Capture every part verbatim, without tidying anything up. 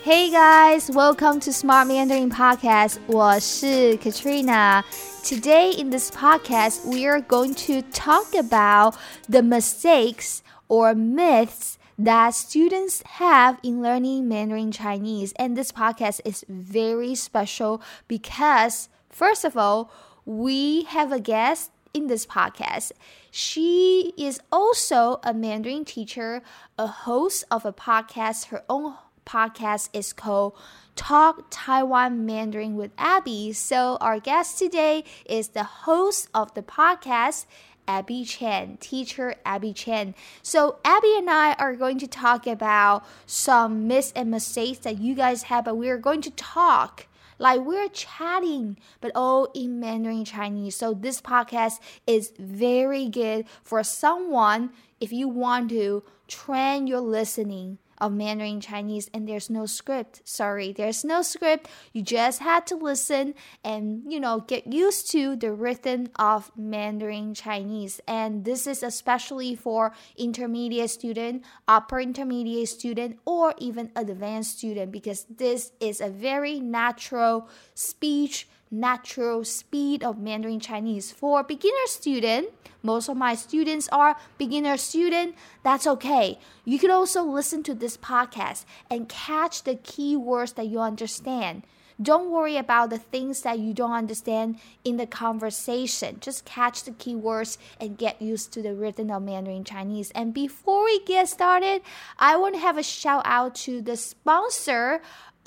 Hey guys, welcome to Smart Mandarin Podcast. 我是 Katrina. Today in this podcast, we are going to talk about the mistakes or myths that students have in learning Mandarin Chinese. And this podcast is very special because, first of all, we have a guest in this podcast. She is also a Mandarin teacher, a host of a podcast. Her own podcast is called Talk Taiwan Mandarin with Abby. So our guest today is the host of the podcast, Abby Chen, teacher Abby Chen. So Abby and I are going to talk about some myths and mistakes that you guys have, but we are going to talk like we're chatting, but all in Mandarin Chinese. So this podcast is very good for someone if you want to train your listening of Mandarin Chinese, and there's no script. Sorry, there's no script. You just had to listen and, you know, get used to the rhythm of Mandarin Chinese. And this is especially for intermediate student, upper intermediate student, or even advanced student, because this is a very natural speech, natural speed of Mandarin Chinese. For beginner student, most of my students are beginner student. That's okay. You could also listen to this podcast and catch the key words that you understand. Don't worry about the things that you don't understand in the conversation. Just catch the key words and get used to the rhythm of Mandarin Chinese. And before we get started, I want to have a shout out to the sponsor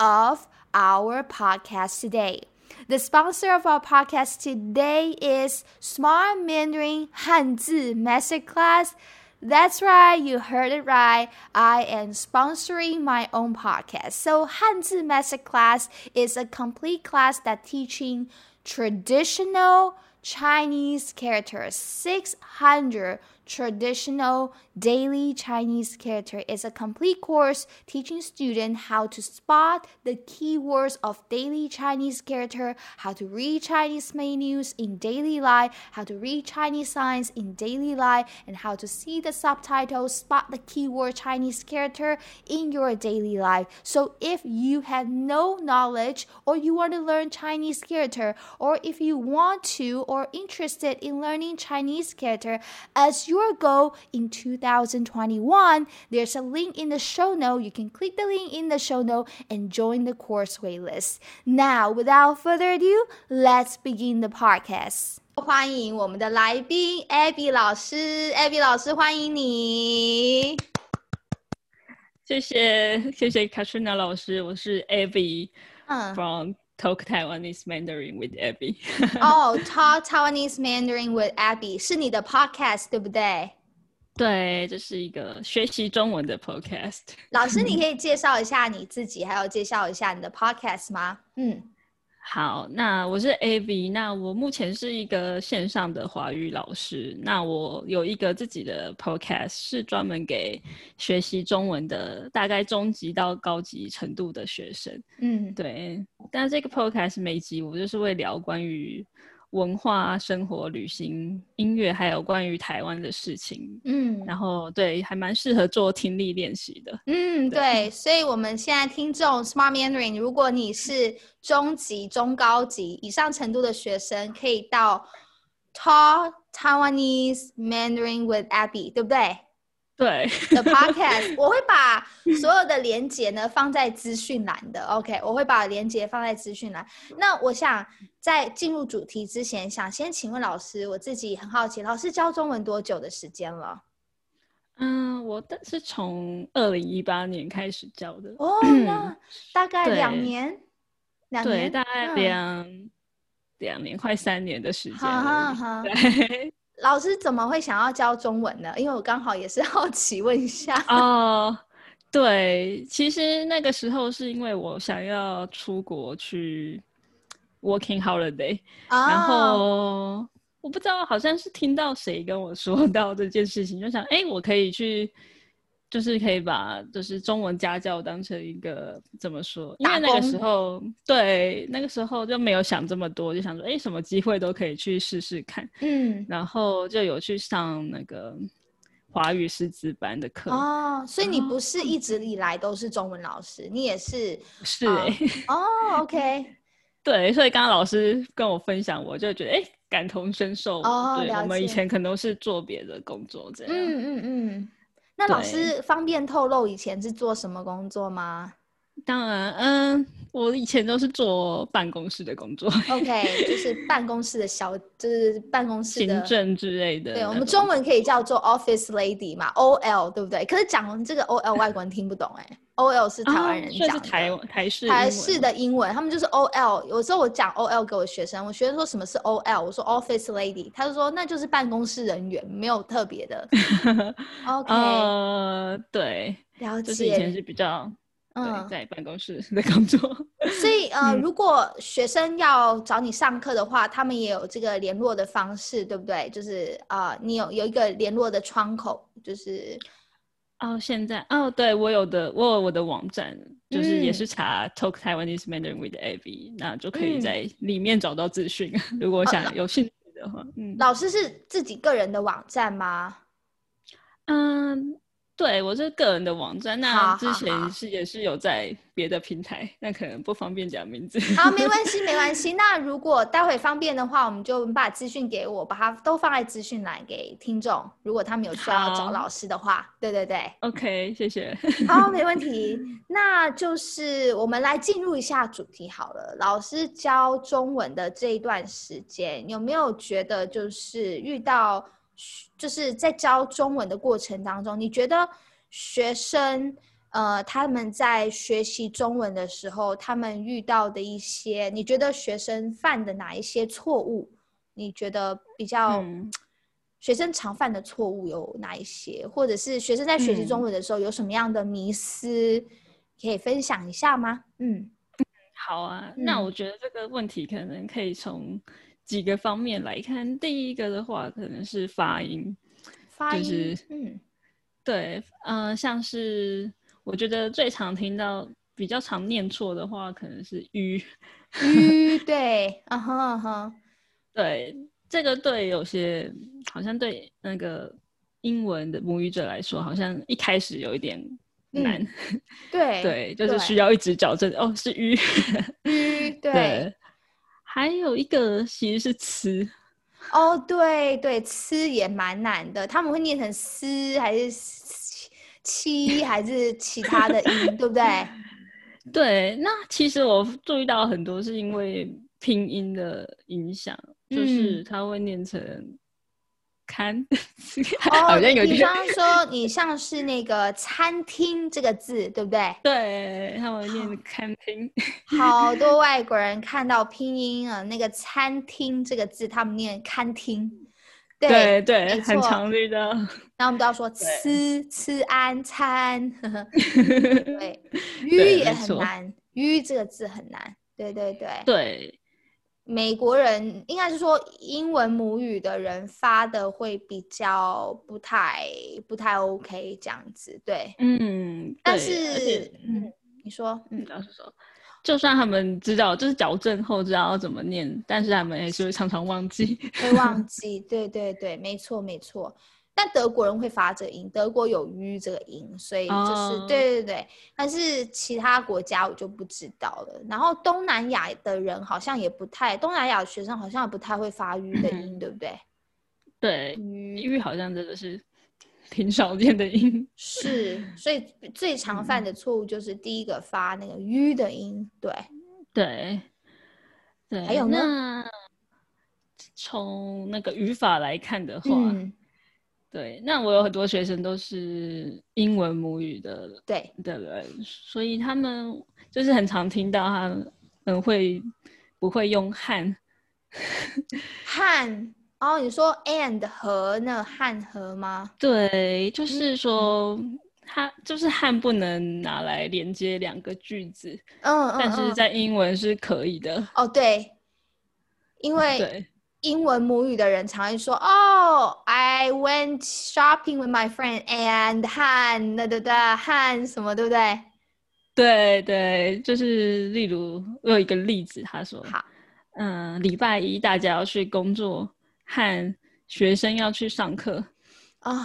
of our podcast today. The sponsor of our podcast today is Smart Mandarin 汉字 Masterclass. That's right, you heard it right. I am sponsoring my own podcast. So 汉字 Masterclass is a complete class that teaching traditional Chinese characters, six hundred traditional daily Chinese character. Is a complete course teaching students how to spot the keywords of daily Chinese character, how to read Chinese menus in daily life, how to read Chinese signs in daily life, and how to see the subtitles, spot the keyword Chinese character in your daily life. So if you have no knowledge or you want to learn Chinese character, or if you want to or interested in learning Chinese character as your goal in two thousand twenty-one, there's a link in the show note. You can click the link in the show note and join the course waitlist. Now, without further ado, let's begin the podcast. 欢迎我们的来宾 Abby 老师 Abby 老师欢迎你。 谢谢谢谢 Katrina 老师，我是 Abby、嗯、from Talk Taiwanese Mandarin with Abby 哦、oh, Talk Taiwanese Mandarin with Abby 是你的 podcast 对不对？ 对，这是一个学习中文的 podcast 老师你可以介绍一下你自己还有介绍一下你的 podcast 吗？嗯， 好，那我是 Abby， 那我目前是一个线上的华语老师，那我有一个自己的 podcast 是专门给学习中文的大概中级到高级程度的学生。嗯，对，但这个 podcast 每集我就是会聊关于文化、生活、旅行、音乐，还有关于台湾的事情。嗯，然后对，还蛮适合做听力练习的。 嗯， 对, 对，所以我们现在听众 Smart Mandarin， 如果你是中级、中高级以上程度的学生，可以到 Talk Taiwanese Mandarin with Abby， 对不对？ 对的 podcast 我会把所有的连结呢放在资讯栏的 OK 我会把连结放在资讯栏。那我想在进入主题之前，想先请问老师，我自己很好奇，老师教中文多久的时间了？ 嗯，我是从二零一八年开始教的哦，那大概两年两年对，大概两、嗯、两年快三年的时间好好好对老师怎么会想要教中文呢？因为我刚好也是好奇问一下。 哦，对，其实那个时候是因为我想要出国去 working holiday、哦、然后我不知道好像是听到谁跟我说到这件事情，就想哎，我可以去就是可以把就是中文家教当成一个怎么说，因为那个时候对那个时候就没有想这么多，就想说哎，什么机会都可以去试试看。嗯，然后就有去上那个华语师资班的课。 哦，所以你不是一直以来都是中文老师，你也是是哎、欸呃、哦 OK 对，所以刚刚老师跟我分享，我就觉得哎、欸、感同身受。 哦， 对， 了解。 我们以前可能都是做别的工作这样。 嗯嗯嗯。那老师方便透露以前是做什么工作吗？ 当然，嗯，我以前都是做办公室的工作。 OK， 就是办公室的小，就是办公室的行政之类的。 对，我们中文可以叫做 office lady 嘛 ，O L 对不对？可是讲这个 O L 外国人听不懂哎、欸、，O L 是台湾人讲的， 啊、是台台式台式的英文，他们就是 O L。有时候我讲 O L 给我学生，我学生说什么是 O L， 我说 office lady， 他就说那就是办公室人员，没有特别的。OK， 呃，对， 了解。 就是以前是比较。 嗯， 在办公室的工作。 所以呃、嗯，如果学生要找你上课的话，他们也有这个联络的方式，对不对？就是呃，你有有一个联络的窗口，就是哦，现在哦，对我有的，我有我的网站，就是也是查 Talk Taiwanese Mandarin with Abby，、嗯、那就可以在里面找到资讯。嗯、如果想有兴趣的话，嗯， 老师是自己个人的网站吗？ 嗯。对，我是个人的网站，那之前是也是有在别的平台，那可能不方便讲名字。 好，没关系，没关系。那如果待会方便的话，我们就把资讯给我，把它都放在资讯栏给听众。如果他们有需要找老师的话，对对对。 OK， 谢谢。 好，没问题。那就是我们来进入一下主题好了。老师教中文的这一段时间，有没有觉得就是遇到？就是在教中文的过程当中，你觉得学生呃他们在学习中文的时候，他们遇到的一些，你觉得学生犯的哪一些错误？你觉得比较、嗯、学生常犯的错误有哪一些？或者是学生在学习中文的时候有什么样的迷思，可以分享一下吗？嗯， 好啊，嗯、那我觉得这个问题可能可以从几个方面来看。第一个的话，可能是发音， 发音， 就是嗯，对，呃，像是我觉得最常听到、比较常念错的话，可能是 ü ü，对，嗯哼嗯哼， 对，这个对有些好像对那个英文的母语者来说，好像一开始有一点难， 嗯、对对，就是需要一直矫正。哦，是 ü ü，对。 对，还有一个其实是词。 哦，对对，吃也蛮难的，他们会念成丝还是七还是其他的音，对不对？ 对，那其实我注意到很多是因为拼音的影响，嗯、就是它会念成看， 哦， 好像有点。 比方说，你像是那个餐厅这个字，对不对？ 对，他们念餐厅。 好多外国人看到拼音啊，那个餐厅这个字，他们念餐厅。 对 对, 对，很常遇到。 然后我们都要说吃吃安餐。对，语也很难，语这个字很难。对对对。 对。 美国人应该是说英文母语的人发的会比较不太不太 OK 这样子，对， 嗯， 但是嗯，你说，嗯， 老师说，就算他们知道就是矫正后知道要怎么念，但是他们还是会常常忘记， 会忘记，对对对，没错没错。但德国人会发这个音，德国有 ü 这个音，所以就是、oh. 对对对。但是其他国家我就不知道了。然后东南亚的人好像也不太，东南亚的学生好像也不太会发 ü 的音，对不对？ 对 ü 好像真的是挺少见的音。 是，所以最常犯的错误就是第一个发那个 ü 的音，对对对。 还有呢？ 那从那个语法来看的话。嗯对，那我有很多学生都是英文母语的对的人，所以他们就是很常听到他们会不会用汉汉哦，你说 and 和那汉和吗？ 对，就是说、嗯、它就是汉不能拿来连接两个句子， 嗯嗯， 但是在英文是可以的。 哦，对，因为对。 英文母语的人常会说哦 I went shopping with my friend and 汉的的的汉什么对不对？ 对对，就是例如我有一个例子，他说好， 嗯，礼拜一大家要去工作，和学生要去上课哦，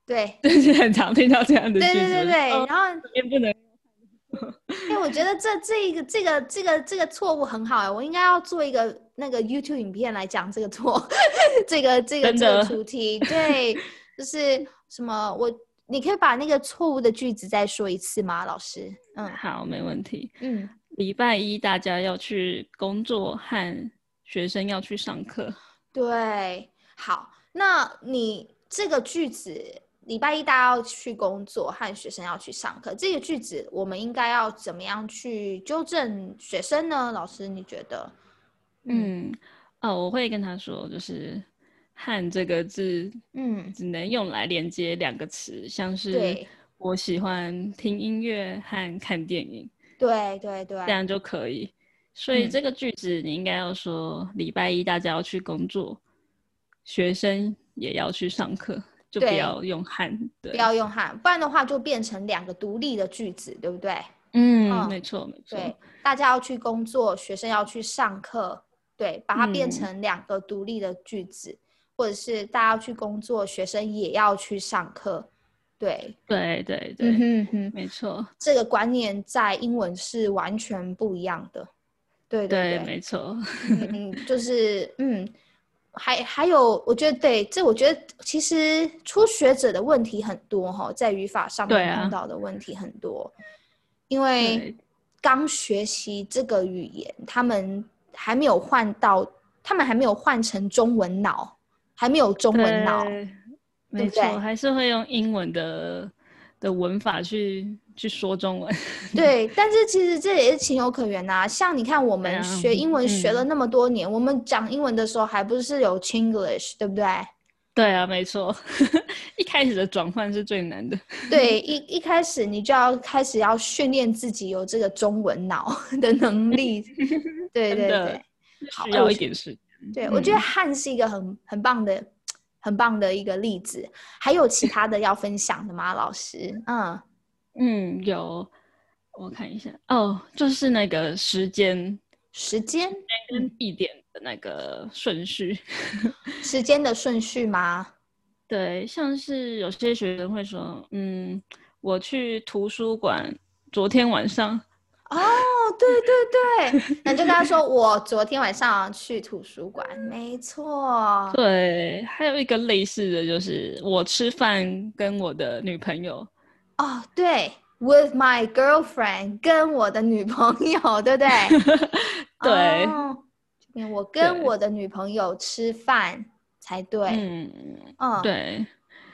对， 就是很常听到这样的句子。 对对对对， 哦、 然后这边不能。 哎，我觉得这这一个这个这个这个错误很好哎，我应该要做一个那个 YouTube 影片来讲这个错，这个这个这个主题，对，就是什么我，你可以把那个错误的句子再说一次吗，老师？嗯， 好，没问题。 嗯， 礼拜一大家要去工作，和学生要去上课。 对，好，那你这个句子。礼拜一大家要去工作，和学生要去上课。这个句子我们应该要怎么样去纠正学生呢？老师，你觉得？ 嗯，嗯哦，我会跟他说，就是"和"这个字，嗯，只能用来连接两个词，像是我喜欢听音乐和看电影。 对对对， 这样就可以。所以这个句子你应该要说，礼拜一大家要去工作，学生也要去上课。就不要用和，对， 不要用和，不然的话就变成两个独立的句子，对不对？ 嗯，嗯没错没错。 对，大家要去工作，学生要去上课，对，把它变成两个独立的句子，嗯、或者是大家要去工作，学生也要去上课，对， 对对对，嗯哼哼没错。 这个观念在英文是完全不一样的，对对 对, 对没错。 嗯，就是嗯。还还有，我觉得对，这我觉得其实初学者的问题很多哈，在语法上面碰到的问题很多，啊、因为刚学习这个语言，他们还没有换到，他们还没有换成中文脑，还没有中文脑， 没错，还是会用英文的的文法去去说中文。 对，但是其实这也是情有可原呐、啊。像你看，我们学英文学了那么多年，嗯、我们讲英文的时候还不是有 Chinglish， 对不对？ 对啊，没错。一开始的转换是最难的。 对，一一开始你就要开始要训练自己有这个中文脑的能力。对对对， 需要一点时间。 对，嗯、我觉得汉是一个很很棒的、很棒的一个例子。还有其他的要分享的吗，老师？嗯嗯，有。我看一下哦，就是那个时间、 时间跟地点的那个顺序。 时间的顺序吗？ 对，像是有些学生会说，嗯，我去图书馆昨天晚上。 哦，对对对，那就跟他说我昨天晚上去图书馆，没错。 对，还有一个类似的就是我吃饭跟我的女朋友。 哦，对。With my girlfriend， 跟我的女朋友，对不对？ 对， 哦、我跟我的女朋友吃饭才对。嗯嗯，对。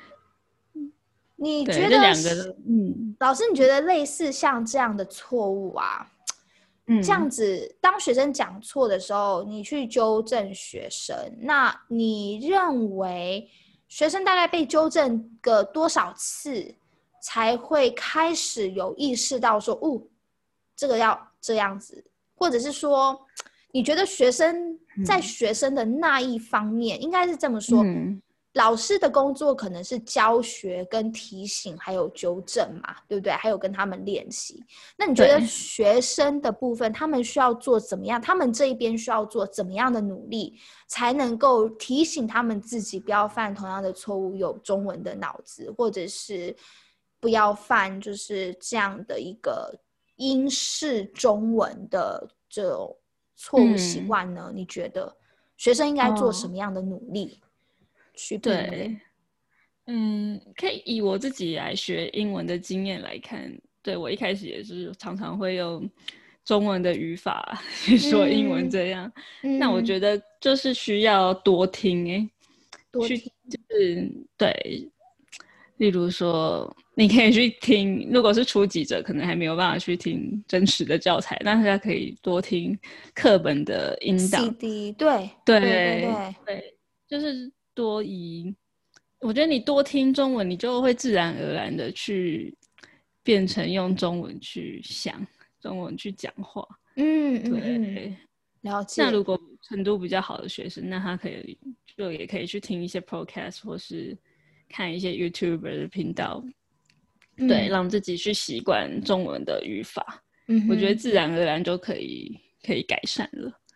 你觉得这两个，嗯，老师，你觉得类似像这样的错误啊？嗯，这样子，当学生讲错的时候，你去纠正学生，那你认为学生大概被纠正个多少次？才会开始有意识到说，哦，这个要这样子，或者是说，你觉得学生在学生的那一方面，嗯、应该是这么说，嗯、老师的工作可能是教学、跟提醒，还有纠正嘛，对不对？还有跟他们练习。那你觉得学生的部分，他们需要做怎么样？他们这一边需要做怎么样的努力，才能够提醒他们自己不要犯同样的错误，有中文的脑子，或者是不要犯就是这样的一个英式中文的这种错误习惯呢？嗯、你觉得学生应该做什么样的努力去避免？ 对，嗯，可以以我自己来学英文的经验来看，对，我一开始也是常常会用中文的语法去说英文这样。嗯、那我觉得就是需要多听、欸， 多听， 就是对。例如说，你可以去听，如果是初级者，可能还没有办法去听真实的教材，但是他可以多听课本的音档 C D， 对对对对 对, 对，就是多以，我觉得你多听中文，你就会自然而然的去变成用中文去想，中文去讲话。 嗯， 对， 嗯了解。 那如果程度比较好的学生，那他可以就也可以去听一些 podcast 或是看一些 YouTuber 的频道，嗯、对，让自己去习惯中文的语法。嗯，我觉得自然而然就可以可以改善了。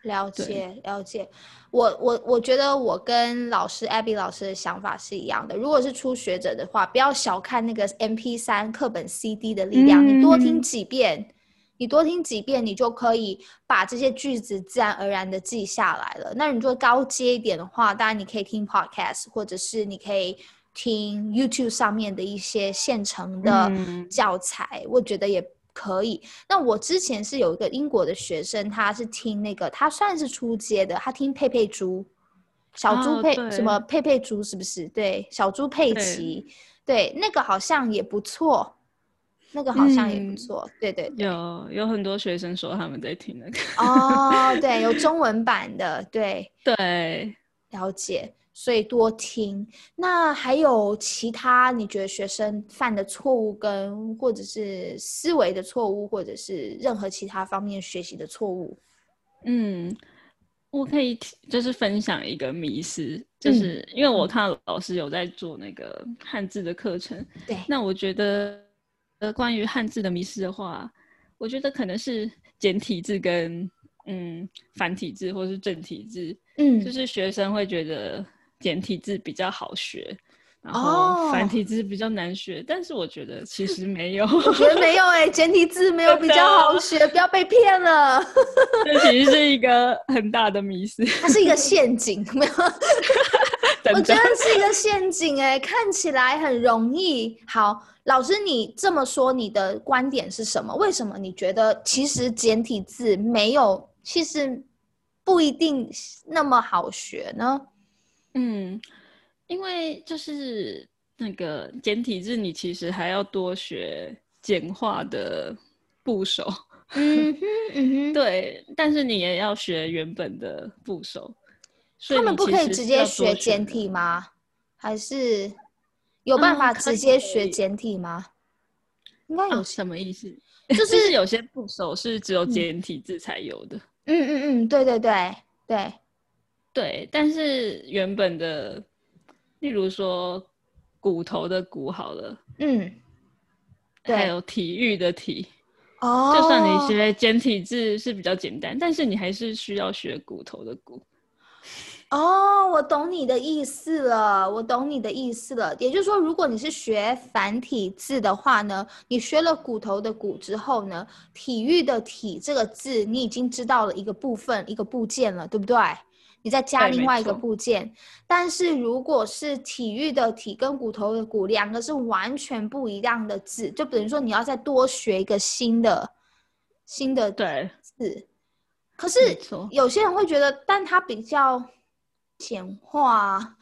了解了解，我我我觉得我跟老师 Abby 老师的想法是一样的。如果是初学者的话，不要小看那个 M P 三 课本 C D 的力量， 嗯你多听几遍，你多听几遍，你就可以把这些句子自然而然的记下来了。那你做高阶一点的话，当然你可以听 podcast， 或者是你可以听 YouTube 上面的一些现成的教材，嗯、我觉得也可以。那我之前是有一个英国的学生，他是听那个，他算是初阶的，他听佩佩猪，小猪佩、 哦、 什么佩佩猪是不是？对，小猪佩奇，对，那个好像也不错，那个好像也不错，嗯、对对对， 有有很多学生说他们在听那个哦，对，有中文版的，对对， 了解。所以多听。那还有其他你觉得学生犯的错误跟或者是思维的错误，或者是任何其他方面学习的错误？ 嗯，我可以就是分享一个迷思，就是因为我看到老师有在做那个汉字的课程， 对， 那我觉得呃关于汉字的迷思的话，我觉得可能是简体字跟嗯繁体字或是正体字，嗯，就是学生会觉得简体字比较好学，然后繁体字比较难学，哦、但是我觉得其实没有， 我觉得没有哎、欸，简体字没有比较好学，不要被骗了。 这其实是一个很大的迷思， 它是一个陷阱，没有？我觉得是一个陷阱哎、欸，看起来很容易。好，老师你这么说，你的观点是什么？为什么你觉得其实简体字没有，其实不一定那么好学呢？ 嗯，因为就是那个简体字，你其实还要多学简化的部首。 嗯哼嗯哼， 对，但是你也要学原本的部首。所以他们不可以直接学简体吗？还是有办法直接学简体吗？嗯、应该有、 啊、什么意思？ 就是就是有些部首是只有简体字才有的。 嗯嗯嗯，对对对对对，但是原本的，例如说骨头的骨好了，嗯，对，还有体育的体。哦，就算你学简体字是比较简单，但是你还是需要学骨头的骨。 哦，我懂你的意思了，我懂你的意思了。也就是说，如果你是学繁体字的话呢，你学了骨头的骨之后呢，体育的体这个字，你已经知道了一个部分、一个部件了，对不对？你再加另外一个部件。但是如果是体育的体跟骨头的骨，两个是完全不一样的字，就等于说你要再多学一个新的新的字。可是有些人会觉得，但它比较简化。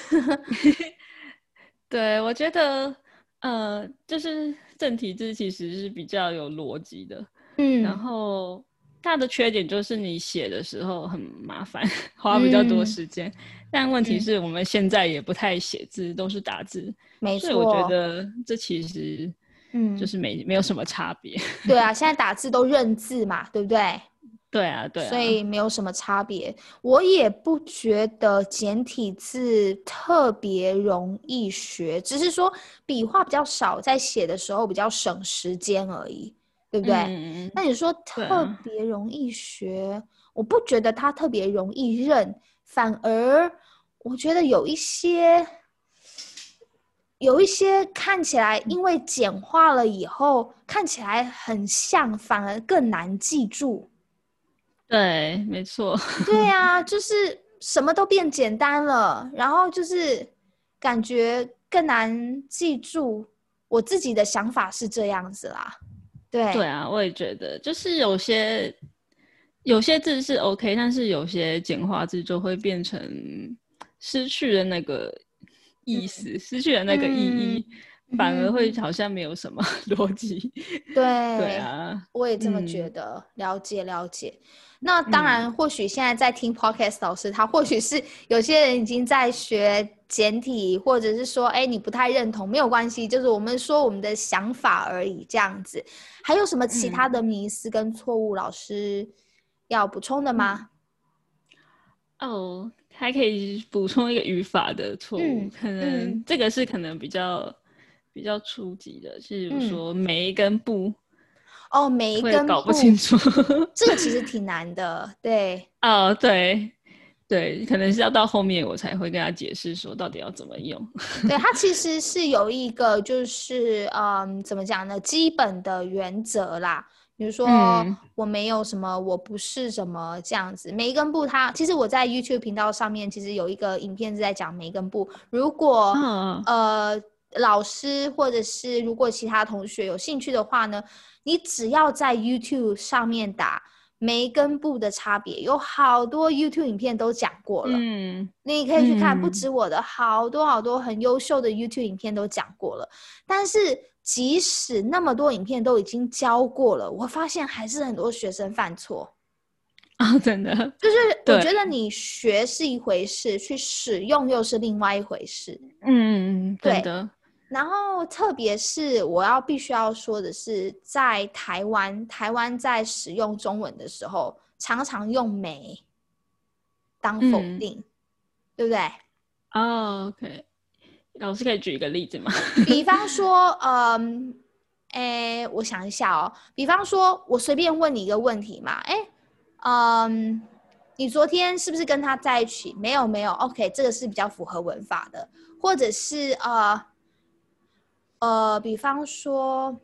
对，我觉得呃，就是正体字其实是比较有逻辑的，嗯，然后它的缺点就是你写的时候很麻烦，花比较多时间，嗯，但问题是我们现在也不太写字，嗯，都是打字，没错，所以我觉得这其实嗯就是没，嗯，没有什么差别。 对啊，现在打字都认字嘛，对不对？ 对啊，对啊， 所以没有什么差别。我也不觉得简体字特别容易学，只是说笔画比较少，在写的时候比较省时间而已，对不对？嗯，那你说特别容易学，啊，我不觉得它特别容易认，反而我觉得有一些有一些看起来因为简化了以后看起来很像，反而更难记住。 对，没错。 对啊，就是什么都变简单了，然后就是感觉更难记住。我自己的想法是这样子啦。对， 对啊，我也觉得，就是有些有些字是 OK， 但是有些简化字就会变成失去了那个意思，嗯，失去了那个意义。嗯，反而会好像没有什么逻辑。 对， 对啊， 我也这么觉得。嗯，了解了解。那当然，或许现在在听 podcast 老师，他或许是有些人已经在学简体，或者是说，哎，你不太认同，没有关系，就是我们说我们的想法而已，这样子。还有什么其他的迷思跟错误，老师要补充的吗？ 嗯，哦，还可以补充一个语法的错误，嗯，可能，嗯，这个是可能比较比较初级的，是比如说梅跟不。 哦，每一会根部搞不清楚。 这个其实挺难的，对。 哦，对对，可能是要到后面我才会跟他解释说到底要怎么用。 对，它其实是有一个就是嗯，怎么讲呢？基本的原则啦，比如说嗯我没有什么，我不是什么这样子。每一根部它，其实我在 YouTube 频道上面其实有一个影片是在讲每一根部。如果哦呃老师或者是如果其他同学有兴趣的话呢，你只要在 YouTube 上面打梅根部的差别，有好多 YouTube 影片都讲过了。 嗯你可以去看，不止我的，好多好多很优秀的 YouTube 影片都讲过了。但是即使那么多影片都已经教过了，我发现还是很多学生犯错。 哦，真的， 就是我对， 觉得你学是一回事，去使用又是另外一回事。 嗯，真对， 的， 然后特别是我要必须要说的是，在台湾，台湾在使用中文的时候，常常用没当否嗯， 定，对不对？ 哦，OK，老师可以举一个例子吗？ 比方说，嗯，诶，我想一下哦。比方说，我随便问你一个问题嘛，诶，嗯，你昨天是不是跟他在一起？没有，没有。OK，这个是比较符合文法的，或者是呃呃，比方说，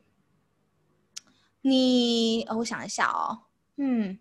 你，呃我想一下哦，嗯，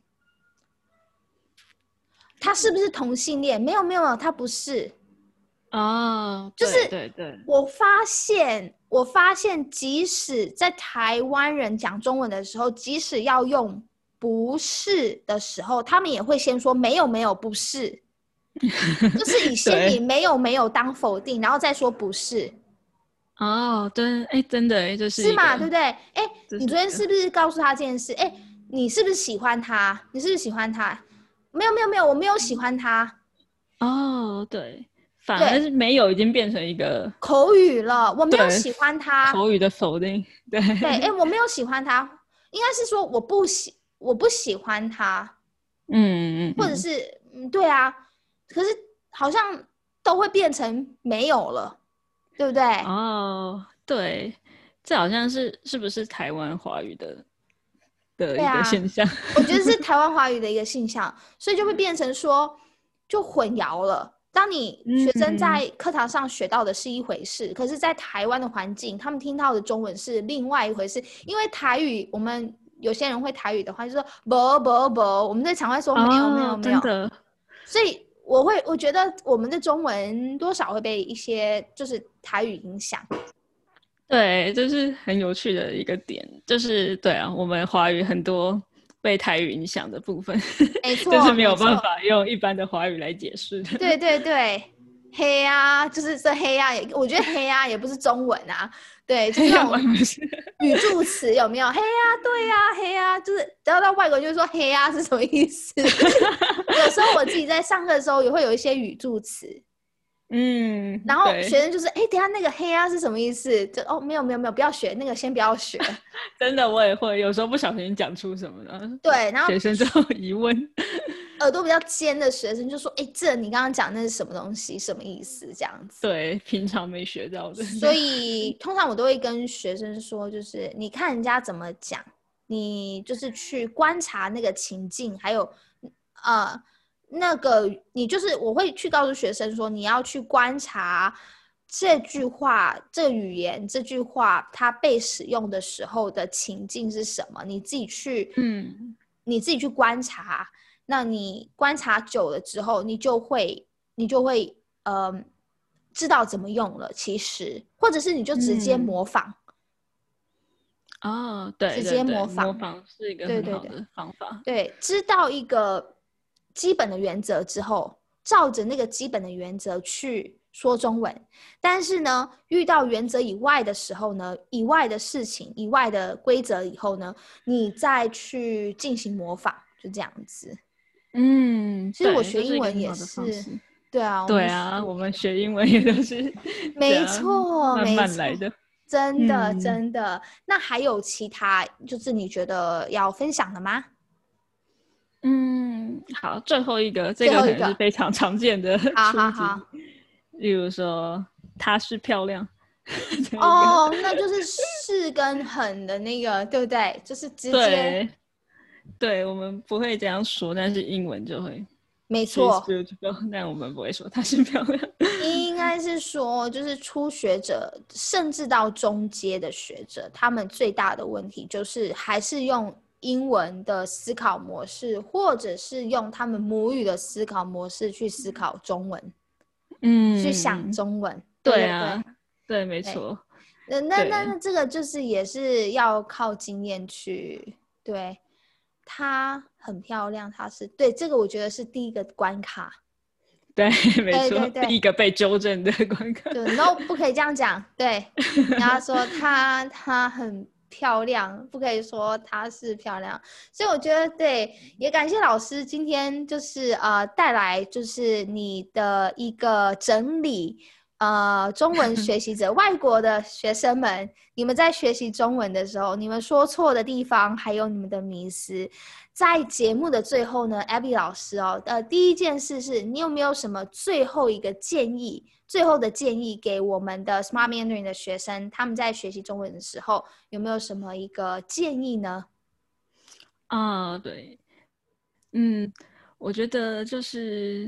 他是不是同性恋？没有，没有，没有，他不是。 哦， 就是对对对， 我发现，我发现，即使在台湾人讲中文的时候，即使要用不是的时候，他们也会先说没有没有不是，就是以先以对， 没有没有当否定，然后再说不是， 哦，对，哎，真的，哎，这是是嘛？对一个， 不对？哎， 这是一个， 你昨天是不是告诉他这件事？哎，你是不是喜欢他？你是不是喜欢他？没有没有没有，我没有喜欢他。 哦，对，反而对， 是没有已经变成一个口语了，我没有对喜欢他。 口语的否定，对， 对，哎，我没有喜欢他，应该是说我不喜我不喜欢他， 嗯嗯嗯， 或者是嗯，对啊，可是好像都会变成没有了，对不对？ 哦，对，这好像是是不是台湾华语的的一个对啊， 现象？ 我觉得是台湾华语的一个现象，所以就会变成说就混淆了。当你学生嗯， 在课堂上学到的是一回事，可是，在台湾的环境，他们听到的中文是另外一回事。因为台语，我们有些人会台语的话，就说不不不，我们在场外说没有没有哦， 没有， 真的， 所以我会我觉得我们的中文多少会被一些就是台语影响。 对，这是很有趣的一个点，就是对啊，我们华语很多被台语影响的部分， 没就是错没错， 没有办法用一般的华语来解释的。 对对对，黑啊，就是这黑啊也，我觉得黑啊也不是中文啊，对，就是那种要不然是语助词有没有？黑啊，对啊，黑啊，就是然后到外国人就会说黑啊是什么意思？有时候我自己在上课的时候也会有一些语助词， 嗯， 然后对， 学生就是哎，等一下那个黑啊是什么意思？就哦没有没有没有，不要学那个，先不要学。 真的我也会，有时候不小心讲出什么的， 对，然后学生就有疑问。 耳朵比较尖的学生就说：“哎，这你刚刚讲那是什么东西？什么意思？”这样子。 对，平常没学到的。 所以通常我都会跟学生说，就是你看人家怎么讲，你就是去观察那个情境，还有呃那个你就是我会去告诉学生说，你要去观察这句话、这个语言、这句话它被使用的时候的情境是什么，你自己去， 嗯， 你自己去观察。那你观察久了之后，你就会，你就会，呃，知道怎么用了。其实，或者是你就直接嗯， 模仿， 哦，对直接对对， 模仿。 模仿是一个对对对很好的方法。 对，知道一个基本的原则之后，照着那个基本的原则去说中文。但是呢，遇到原则以外的时候呢，以外的事情、以外的规则以后呢，你再去进行模仿，就这样子。 嗯， 其实我对， 学英文这是一个很也是， 好的方式。 对啊，我们对啊，我们学英文也都是这没样错， 慢没错， 慢来的。 真的嗯真的。那还有其他就是你觉得要分享的吗？ 嗯，好，最后一个，这个可能是最后一个， 非常常见的好好出题， 好， 例如说她是漂亮， 哦，那就是是跟很的那个，对不对？就是直接。 对，对，我们不会这样说，但是英文就会。 没错。 She's beautiful， 但我们不会说她是漂亮。 应该是说，就是初学者，甚至到中阶的学者，他们最大的问题就是还是用英文的思考模式，或者是用他们母语的思考模式去思考中文，嗯，去想中文。对, 对啊，对，没错。 那那那这个就是也是要靠经验去。对，她很漂亮，她是对这个我觉得是第一个关卡。 对，没错， 对对对， 第一个被纠正的关卡。 对 ，no， 不可以这样讲。对，你要说她她很漂亮，不可以说她是漂亮。所以我觉得，对，也感谢老师今天就是呃带来就是你的一个整理。呃，中文学习者，外国的学生们，你们在学习中文的时候，你们说错的地方，还有你们的迷思，在节目的最后呢 ，Abby 老师哦，呃，第一件事是你有没有什么最后一个建议，最后的建议给我们的 Smart Mandarin 的学生，他们在学习中文的时候，有没有什么一个建议呢？ 啊，对，嗯，我觉得就是。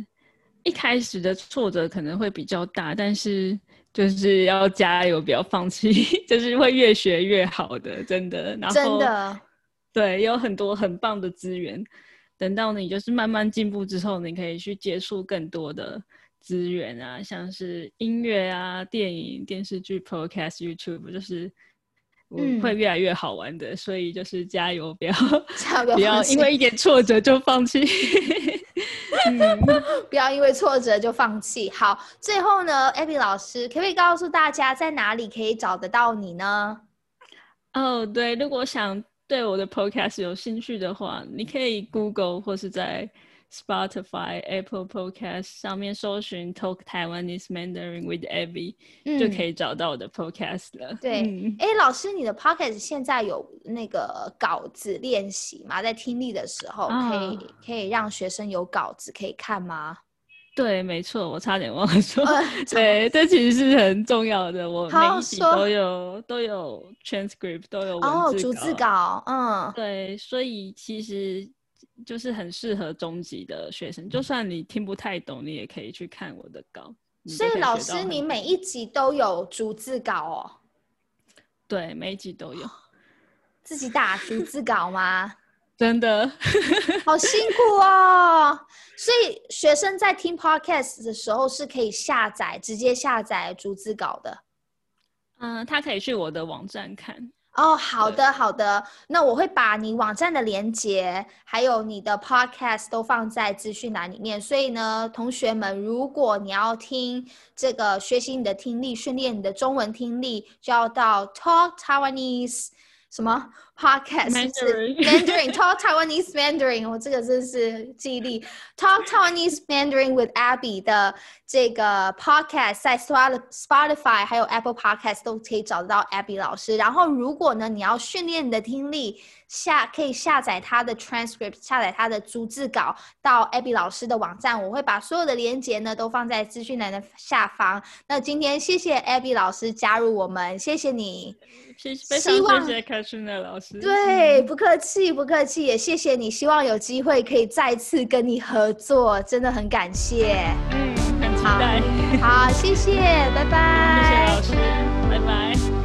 一开始的挫折可能会比较大，但是就是要加油，不要放弃，就是会越学越好的，真的。然后真的， 对，有很多很棒的资源，等到你就是慢慢进步之后，你可以去接触更多的资源啊，像是音乐啊、电影、电视剧、Podcast、YouTube， 就是会越来越好玩的。嗯、所以就是加油，不要不要因为一点挫折就放弃。 嗯、不要因为挫折就放弃。好，最后呢 Abby 老师可不可以告诉大家在哪里可以找得到你呢？ 哦，对，如果想对我的 podcast 有兴趣的话，你可以 Google 或是在 Spotify、Apple Podcast 上面搜寻 Talk Taiwanese Mandarin with Abby、嗯、就可以找到我的 podcast 了。 对，哎、嗯，老师，你的 podcast 现在有那个稿子练习吗？在听力的时候，可以、啊、可以让学生有稿子可以看吗？ 对，没错，我差点忘了说。呃、对，这其实是很重要的。我每一集都有都有 transcript， 都有文字稿。哦， 逐字稿，嗯， 对，所以其实就是很适合中级的学生，就算你听不太懂，你也可以去看我的稿。 所以老师，你每一集都有逐字稿哦？ 对，每一集都有。 自己打逐字稿吗？ 真的好辛苦哦。所以学生在听 podcast 的时候是可以下载直接下载逐字稿的。 嗯，他可以去我的网站看。 哦，好的好的，那我会把你网站的连结还有你的 podcast 都放在资讯栏里面。所以呢，同学们，如果你要听这个学习你的听力，训练你的中文听力，就要到 Talk Taiwanese什么 podcast Mandarin Mandarin Talk Taiwanese Mandarin， 我这个真是记忆力 Talk Taiwanese Mandarin with Abby 的这个 podcast 在 Spotify 还有 Apple Podcast 都可以找得到 Abby 老师。然后如果呢你要训练你的听力，下可以下载他的 transcript， 下载他的逐字稿到 Abby 老师的网站，我会把所有的连结呢都放在资讯栏的下方。那今天谢谢 Abby 老师加入我们，谢谢你。 非常谢谢 Katrina 老师。 对，不客气不客气，也谢谢你，希望有机会可以再次跟你合作，真的很感谢。 嗯，很期待。 好，好谢谢，拜拜。 谢谢老师，拜拜。